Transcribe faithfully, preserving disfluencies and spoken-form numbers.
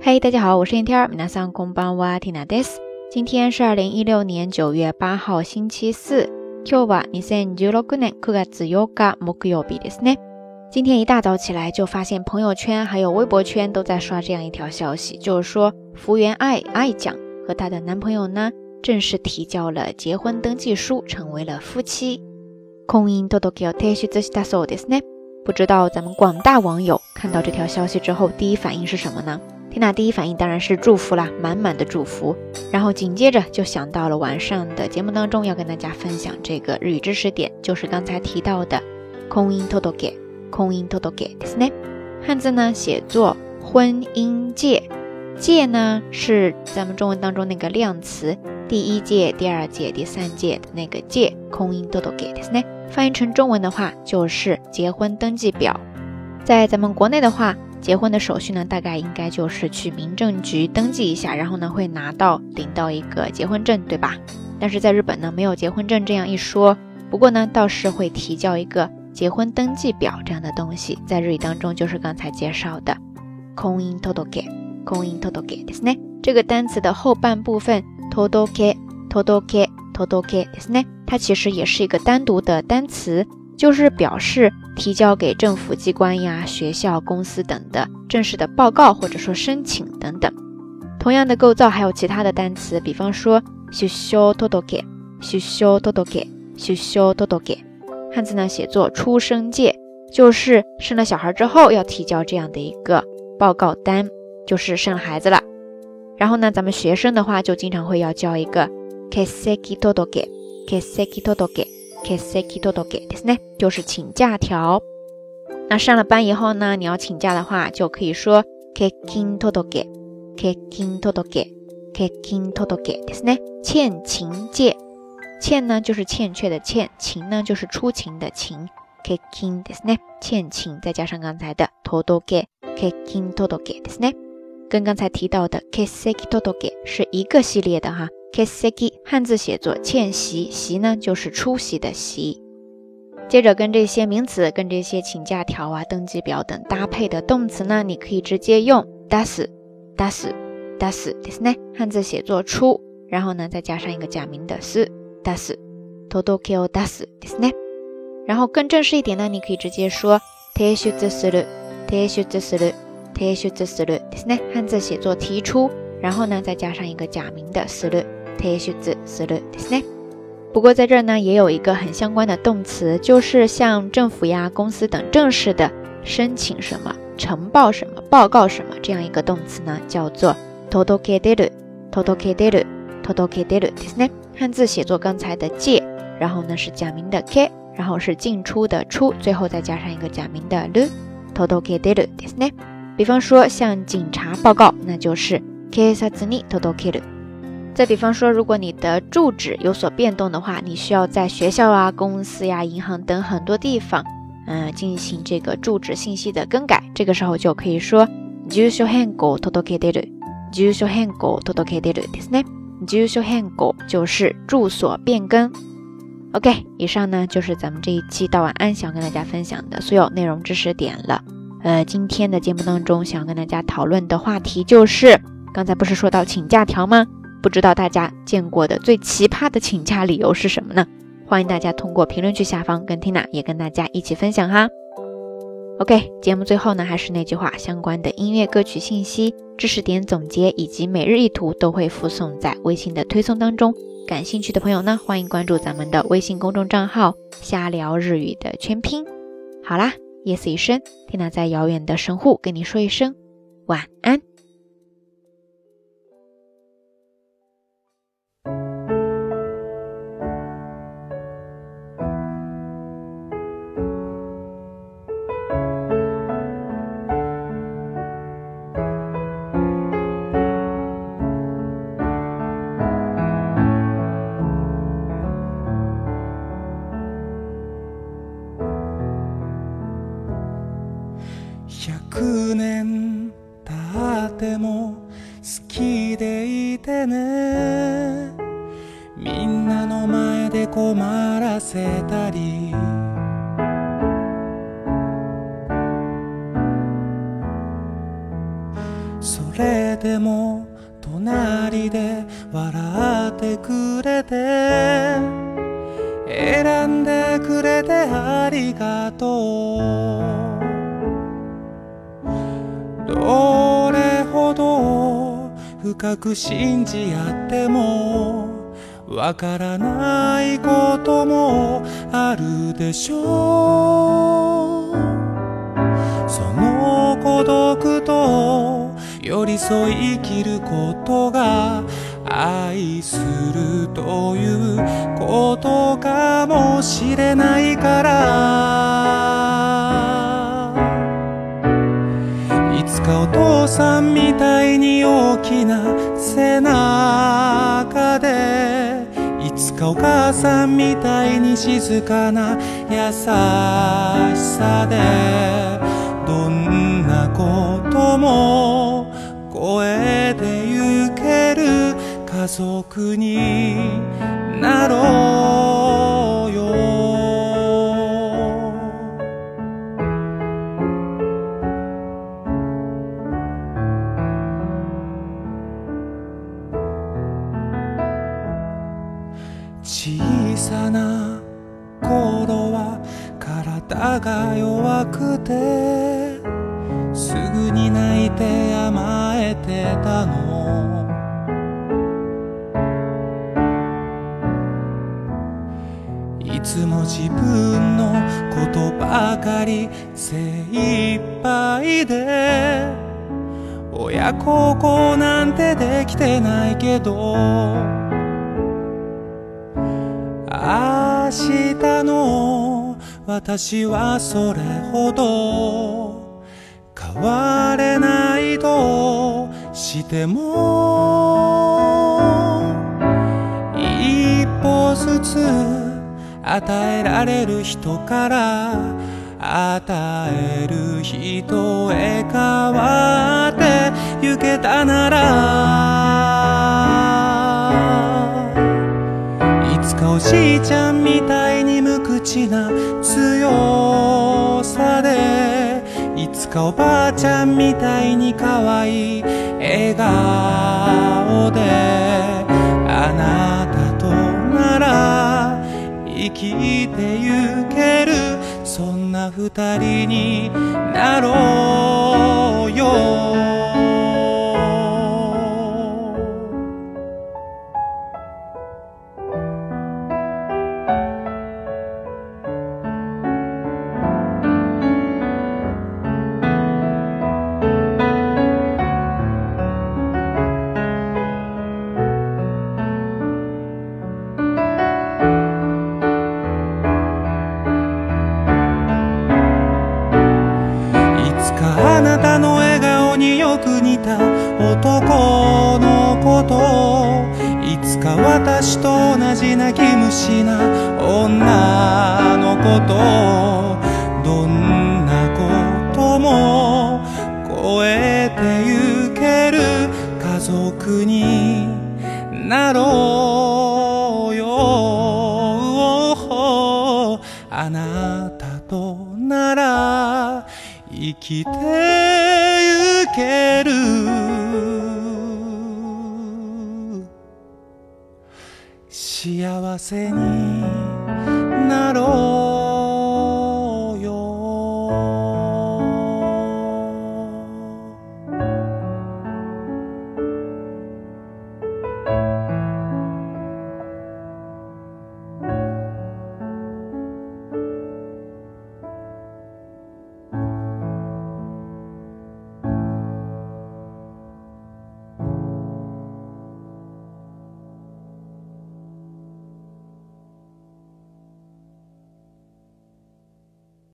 嘿、hey, 大家好，我是天天，皆さんこんばんは、ティナです。今天是二零一六年九月八号星期四。今日はにせんじゅうろくねんくがつよっか木曜日ですね。今天一大早起来就发现朋友圈还有微博圈都在刷这样一条消息，就是说福原爱爱酱和她的男朋友呢正式提交了结婚登记书，成为了夫妻。婚姻届を提出したそうですね。不知道咱们广大网友看到这条消息之后第一反应是什么呢？缇娜第一反应当然是祝福啦，满满的祝福，然后紧接着就想到了晚上的节目当中要跟大家分享这个日语知识点，就是刚才提到的婚姻届婚姻届ですね。汉字呢写作婚姻戒，戒呢是咱们中文当中那个量词，第一届、第二届、第三届的那个戒，婚姻届ですね。翻译成中文的话就是结婚登记表。在咱们国内的话，结婚的手续呢大概应该就是去民政局登记一下，然后呢会拿到领到一个结婚证，对吧？但是在日本呢没有结婚证这样一说，不过呢倒是会提交一个结婚登记表这样的东西，在日语当中就是刚才介绍的婚姻届婚姻届ですね。这个单词的后半部分届届届ですね，它其实也是一个单独的单词，就是表示提交给政府机关呀、学校、公司等的正式的报告或者说申请等等。同样的构造还有其他的单词，比方说出生届出生届出生届，汉字呢写作出生戒，就是生了小孩之后要提交这样的一个报告单，就是生了孩子了。然后呢咱们学生的话就经常会要交一个欠席届欠席届欠席届ですね，就是请假条。那上了班以后呢，你要请假的话就可以说欠勤届欠勤届欠勤届ですね，欠勤戒。欠呢就是欠缺的欠，勤呢就是出勤的勤，欠勤ですね，欠勤再加上刚才的届欠勤届ですね，跟刚才提到的欠席届是一个系列的哈。欠席汉字写作欠席，席呢就是出席的席。接着跟这些名词跟这些请假条啊、登记表等搭配的动词呢，你可以直接用出す出す出すですね，汉字写作出，然后呢再加上一个假名的す出す届けを出すですね。然后更正式一点呢，你可以直接说提出する提出する提出するですね，汉字写作提出，然后呢再加上一个假名的する提出するですね。不过在这儿呢也有一个很相关的动词，就是像政府呀、公司等正式的申请什么、呈报什么、报告什么这样一个动词呢，叫做届け出る届け出る届け出るですね。汉字写作刚才的戒，然后呢是假名的け，然后是进出的出，最后再加上一个假名的る届け出るですね。比方说向警察报告，那就是警察に届ける。再比方说，如果你的住址有所变动的话，你需要在学校啊、公司呀、银行等很多地方嗯、呃，进行这个住址信息的更改，这个時候就可以说住所変更届け出る住所変更届け出るですね。住所変更就是住所变更。 OK， 以上呢就是咱们这一期到晚安想跟大家分享的所有内容知识点了。呃，今天的节目当中想跟大家讨论的话题就是刚才不是说到请假条吗？不知道大家见过的最奇葩的请假理由是什么呢？欢迎大家通过评论区下方跟 Tina 也跟大家一起分享哈。 OK， 节目最后呢还是那句话，相关的音乐歌曲信息、知识点总结以及每日一图都会附送在微信的推送当中，感兴趣的朋友呢欢迎关注咱们的微信公众账号瞎聊日语的全拼。好啦，夜色已深， Tina 在遥远的神户跟你说一声晚安。 百年経っても好きでいてね、みんなの前で困らせたり、 それでも隣で笑ってくれて選んでくれてありがとう。どれほど深く信じ合ってもわからないこともあるでしょう。その孤独と寄り添い生きることが愛するということかもしれないから、いつかお父さんみたいに大きな背中で、いつかお母さんみたいに静かな優しさで、どんなことも超えてゆける家族になろうよ。小さな頃は体が弱くてすぐに泣いて甘えてたの。いつも自分のことばかり精一杯で、親孝行なんてできてないけど、明日の私はそれほど変われないとしても、一歩ずつ与えられる人から与える人へ変わってゆけたなら、いつかおじいちゃんみたいに無口な強さで、いつかおばあちゃんみたいに可愛い笑顔で、あなたとなら生きてゆける、そんな二人になろうよ。あなたの笑顔によく似た男の子と、いつか私と同じ泣き虫な女の子と、どんなことも超えてゆける家族になろうよ。あなたとなら生きてゆける、幸せに